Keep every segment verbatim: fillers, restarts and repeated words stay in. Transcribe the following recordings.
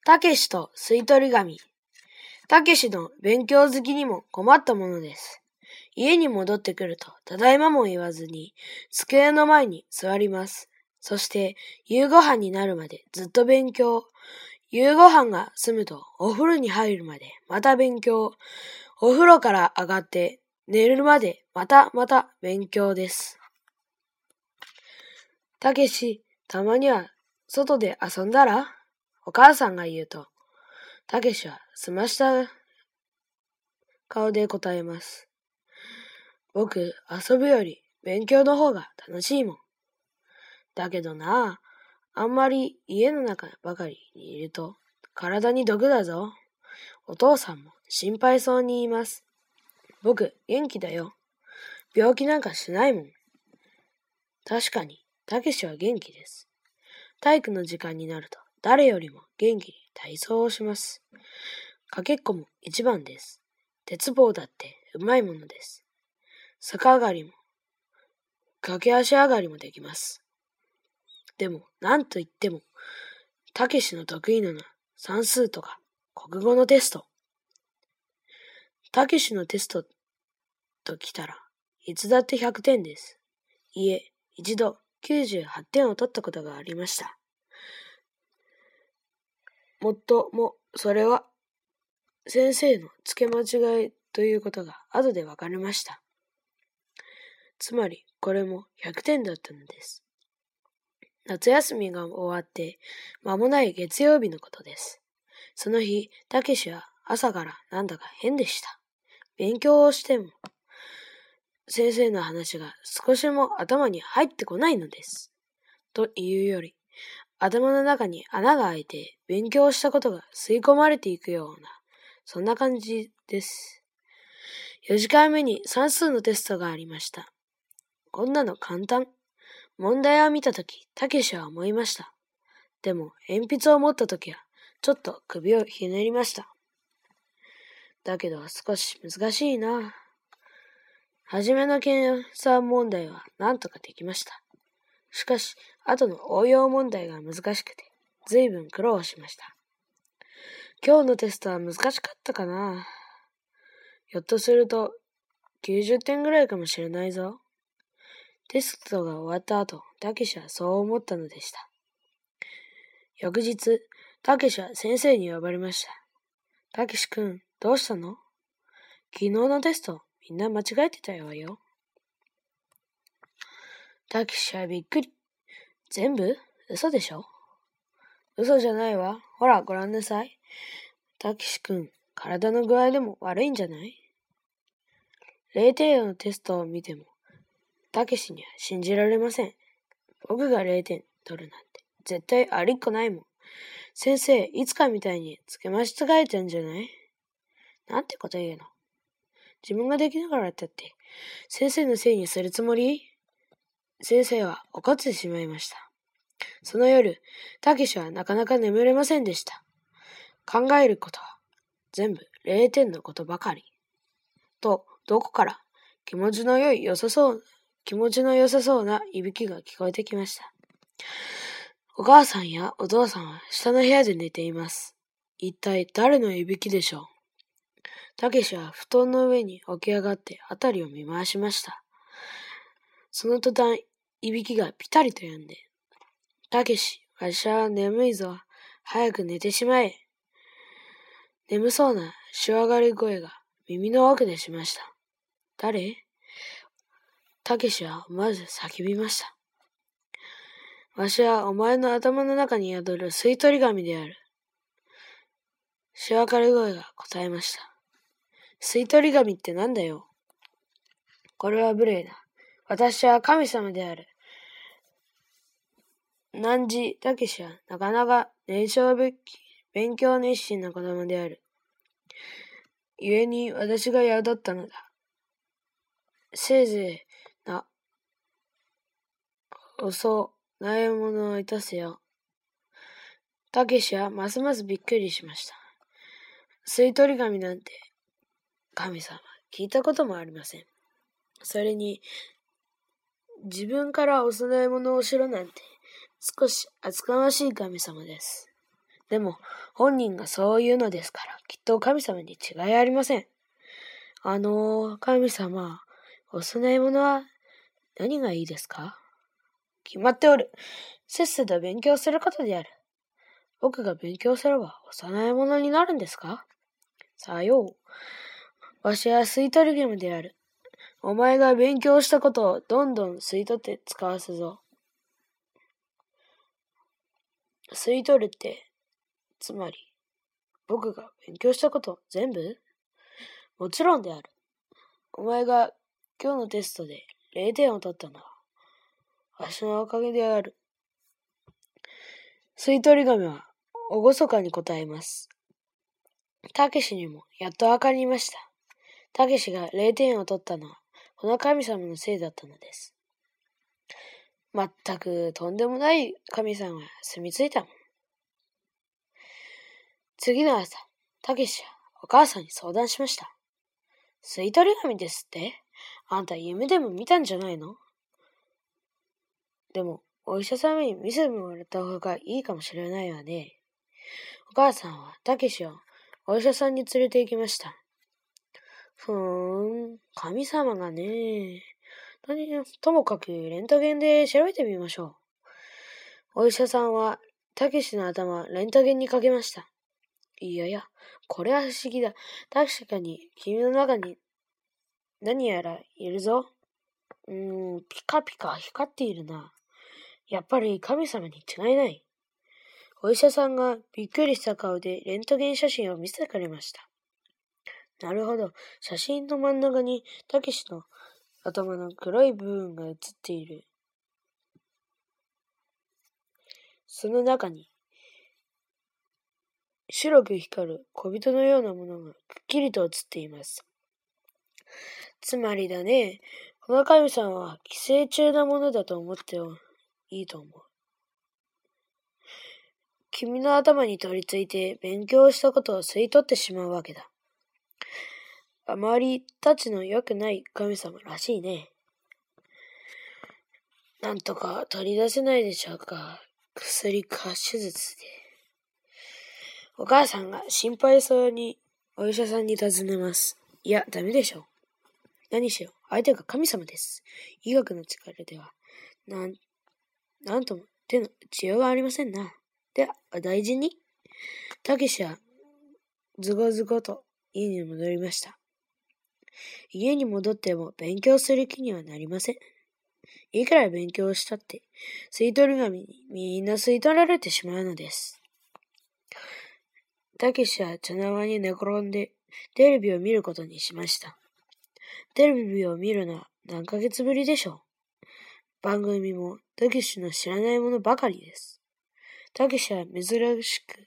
たけしと吸い取り紙。たけしの勉強好きにも困ったものです。家に戻ってくると、ただいまも言わずに、机の前に座ります。そして、夕ご飯になるまでずっと勉強。夕ご飯が済むと、お風呂に入るまでまた勉強。お風呂から上がって寝るまでまたまた勉強です。たけし、たまには外で遊んだら？お母さんが言うと、たけしはすました顔で答えます。僕、遊ぶより勉強の方が楽しいもん。だけどな、あんまり家の中ばかりにいると体に毒だぞ。お父さんも心配そうに言います。僕、元気だよ。病気なんかしないもん。確かに、たけしは元気です。体育の時間になると誰よりも元気に体操をします。かけっこも一番です。鉄棒だってうまいものです。逆上がりも、駆け足上がりもできます。でも、なんといっても、たけしの得意なのは算数とか国語のテスト。たけしのテストときたらいつだってひゃくてんです。いえ、一度きゅうじゅうはってんを取ったことがありました。もっとも、それは先生の付け間違いということが後で分かりました。つまり、これもひゃくてんだったのです。夏休みが終わって、間もない月曜日のことです。その日、たけしは朝からなんだか変でした。勉強をしても、先生の話が少しも頭に入ってこないのです。というより、頭の中に穴が開いて勉強したことが吸い込まれていくような、そんな感じです。よじかんめに算数のテストがありました。こんなの簡単。問題を見たとき、たけしは思いました。でも、鉛筆を持ったときは、ちょっと首をひねりました。だけど、少し難しいな。はじめの計算問題はなんとかできました。しかし、後の応用問題が難しくて、ずいぶん苦労しました。今日のテストは難しかったかな。ひょっとすると、きゅうじゅってんぐらいかもしれないぞ。テストが終わった後、たけしはそう思ったのでした。翌日、たけしは先生に呼ばれました。たけしくん、どうしたの？昨日のテスト、みんな間違えてたわよ。たけしはびっくり。全部？嘘でしょ？嘘じゃないわ。ほら、ごらんなさい。たけしくん、体の具合でも悪いんじゃない？れいてんのテストを見ても、たけしには信じられません。僕がれいてん取るなんて、絶対ありっこないもん。先生、いつかみたいにつけ間違えてんじゃない？なんてこと言うの。自分ができながらだって、先生のせいにするつもり？先生は怒ってしまいました。その夜、たけしはなかなか眠れませんでした。考えることは全部れいてんのことばかり。と、どこから気持ちの良い良さそう、気持ちの良さそうないびきが聞こえてきました。お母さんやお父さんは下の部屋で寝ています。一体誰のいびきでしょう。たけしは布団の上に起き上がってあたりを見回しました。その途端、いびきがピタリと止んで、たけし、わしは眠いぞ。早く寝てしまえ。眠そうなしわがり声が耳の奥でしました。誰？たけしはまず叫びました。わしはお前の頭の中に宿る吸い取り紙である。しわかり声が答えました。吸い取り紙ってなんだよ。これは無礼だ。私は神様である。汝たけしはなかなか年少べき勉強熱心な子供である。故に私が宿ったのだ。せいぜいな、おそなえものをいたせよ。たけしはますますびっくりしました。吸い取り紙なんて、神様、聞いたこともありません。それに、自分からお供え物をしろなんて、少し厚かましい神様です。 でも、本人がそう言うのですから、きっと神様に違いありません。あの、神様、お供え物は何がいいですか？決まっておる。せっせと勉強することである。僕が勉強すればお供え物になるんですか？さよう。わしは吸い取りゲームである。お前が勉強したことをどんどん吸い取って使わすぞ。吸い取るって、つまり、僕が勉強したこと全部？もちろんである。お前が今日のテストでれいてんを取ったのは、わしのおかげである。吸い取り紙は、おごそかに答えます。たけしにもやっとわかりました。たけしがれいてんを取ったのは、この神様のせいだったのです。まったくとんでもない神様が住み着いたもん。次の朝、たけしはお母さんに相談しました。吸い取り紙ですって？あんた夢でも見たんじゃないの？でも、お医者さんに見せてもらった方がいいかもしれないわね。お母さんはたけしをお医者さんに連れて行きました。ふーん、神様がね。ともかくレントゲンで調べてみましょう。お医者さんはたけしの頭をレントゲンにかけました。いやいや、これは不思議だ。確かに君の中に何やらいるぞ。うーん、ピカピカ光っているな。やっぱり神様に違いない。お医者さんがびっくりした顔でレントゲン写真を見せてくれました。なるほど。写真の真ん中にたけしの頭の黒い部分が写っている。その中に白く光る小人のようなものがくっきりと写っています。つまりだね、この神様は寄生虫なものだと思っていいと思う。君の頭に取り付いて勉強したことを吸い取ってしまうわけだ。あまりたちの良くない神様らしいね。なんとか取り出せないでしょうか。薬か手術で。お母さんが心配そうにお医者さんに尋ねます。いや、ダメでしょう。何しろ、相手が神様です。医学の力では、なん、なんとも手の打ちようがありませんな。では、大事に。たけしは、ずごずごと家に戻りました。家に戻っても勉強する気にはなりません。いくら勉強したって、吸い取り紙にみんな吸い取られてしまうのです。たけしは茶の間に寝転んでテレビを見ることにしました。テレビを見るのは何ヶ月ぶりでしょう。番組もたけしの知らないものばかりです。たけしは珍しく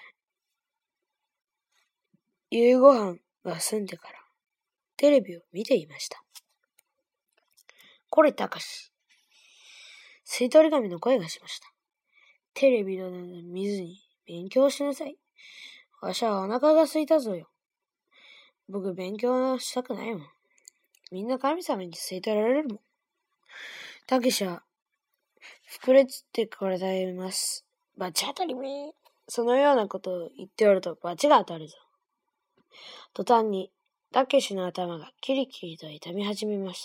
夕ご飯が済んでからテレビを見ていました。これたかし。吸い取り紙の声がしました。テレビなど見ずに勉強しなさい。わしはお腹が空いたぞよ。僕勉強したくないもん。みんな神様に吸い取られるもん。たけしは膨れつって答えます。バチ当たりめ。そのようなことを言っておるとバチが当たるぞ。途端にたけしの頭がキリキリと痛み始めました。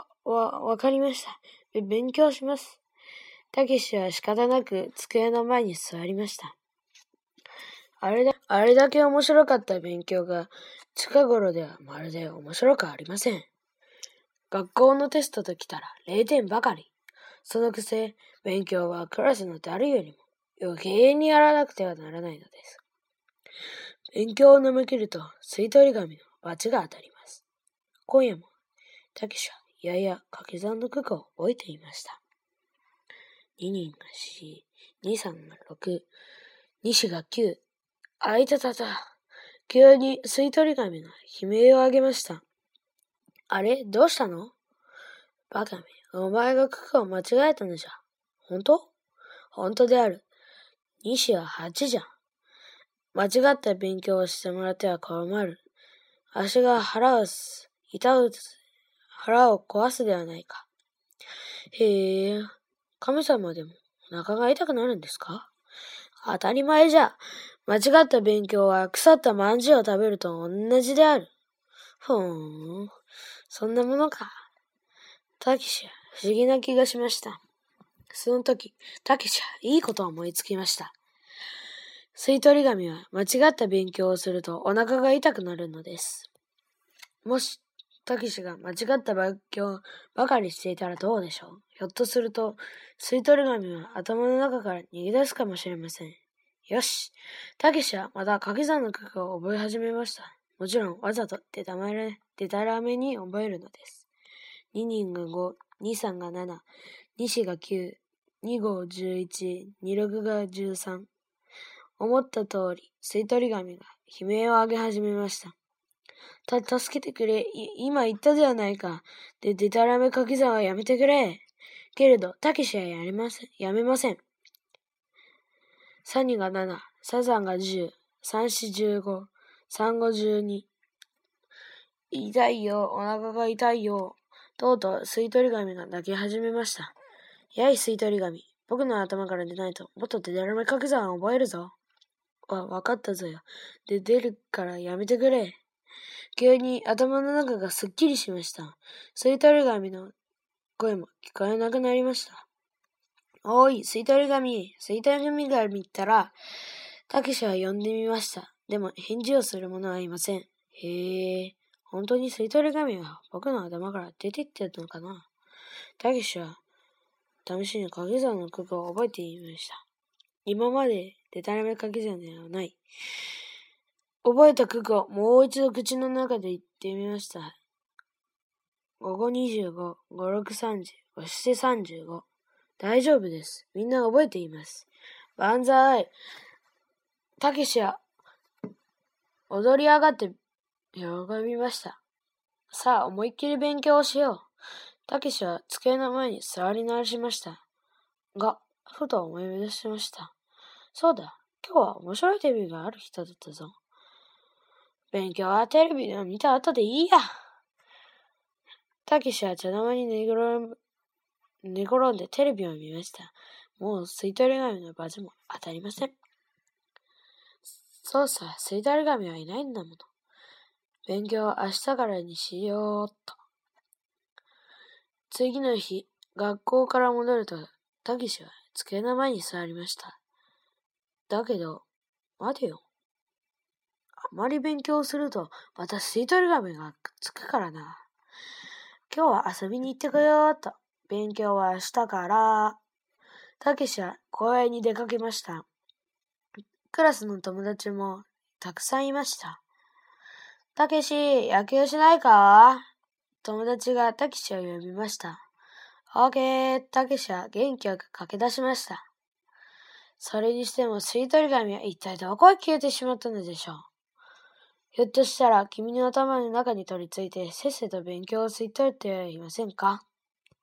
わ、わ、わかりました。勉強します。たけしは仕方なく机の前に座りました。あれだ、あれだけ面白かった勉強が近頃ではまるで面白くありません。学校のテストときたられいてんばかり。そのくせ、勉強はクラスの誰よりも余計にやらなくてはならないのです。勉強を舐め切ると吸い取り紙の罰が当たります。今夜も、たけしはやや掛け算の九九を覚えていました。ににんがよん、にさんがろく、にしがきゅう。あいたたた。急に吸い取り紙が悲鳴を上げました。あれ、どうしたの？バカめ、お前が九九を間違えたのじゃ。本当？本当である。にしははちじゃ。間違った勉強をしてもらっては困る。足が腹をす、痛う、腹を壊すではないか。へえ、神様でもお腹が痛くなるんですか？ 当たり前じゃ。間違った勉強は腐ったまんじゅうを食べると同じである。ふーん、そんなものか。たけしは不思議な気がしました。その時、たけしはいいことを思いつきました。吸い取り紙は間違った勉強をするとお腹が痛くなるのです。もし、たけしが間違った勉強ばかりしていたらどうでしょう。ひょっとすると、吸い取り紙は頭の中から逃げ出すかもしれません。よし、たけしはまた掛け算の九九を覚え始めました。もちろん、わざとでたまれ、でたらめに覚えるのです。ににんがご、にさんがなな、にしがきゅう、にごじゅういち、にろくがじゅうさん。思った通り、吸い取り紙が悲鳴を上げ始めました。た、助けてくれ。今言ったではないか。で、でたらめ掛け算はやめてくれ。けれど、たけしはやりません。やめません。さんにがなな、ささんがじゅう、さんしじゅうご、さんごじゅうに。痛いよ、お腹が痛いよ。とうとう吸い取り紙が泣き始めました。やい、吸い取り紙。僕の頭から出ないと、もっとでたらめ掛け算を覚えるぞ。わ、わかったぞよ。で、出るからやめてくれ。急に頭の中がすっきりしました。吸い取り紙の声も聞こえなくなりました。おい、吸い取り紙。吸い取り紙が見たら、たけしは呼んでみました。でも返事をする者はいません。へえ、本当に吸い取り紙は僕の頭から出ていってるのかな。たけしは試しに掛け算の九九を覚えてみました。今まででたらめ掛け算ではない。覚えた九九をもう一度口の中で言ってみました。ごごにじゅうご、ごろくさんじゅう、ごしちさんじゅうご。大丈夫です。みんな覚えています。万歳。たけしは踊り上がって喜びました。さあ、思いっきり勉強をしよう。たけしは机の前に座り直しました。が、ふと思い出しました。そうだ、今日は面白いテレビがある人だったぞ。勉強はテレビで見た後でいいや。たけしは茶の間に寝転ん寝転んでテレビを見ました。もう吸い取り紙のバズも当たりません。そうさ、吸い取り紙はいないんだもの。勉強は明日からにしようっと。次の日、学校から戻ると、たけしは机の前に座りました。だけど、待てよ。あまり勉強すると、また吸い取り紙がくっつくからな。今日は遊びに行ってこようっと。勉強は明日から。たけしは公園に出かけました。クラスの友達もたくさんいました。たけし、野球しないか？友達がたけしを呼びました。オーケー、たけしは元気よく駆け出しました。それにしても吸い取り紙は一体どこへ消えてしまったのでしょう。ひょっとしたら君の頭の中に取り付いてせっせと勉強を吸い取っていませんか？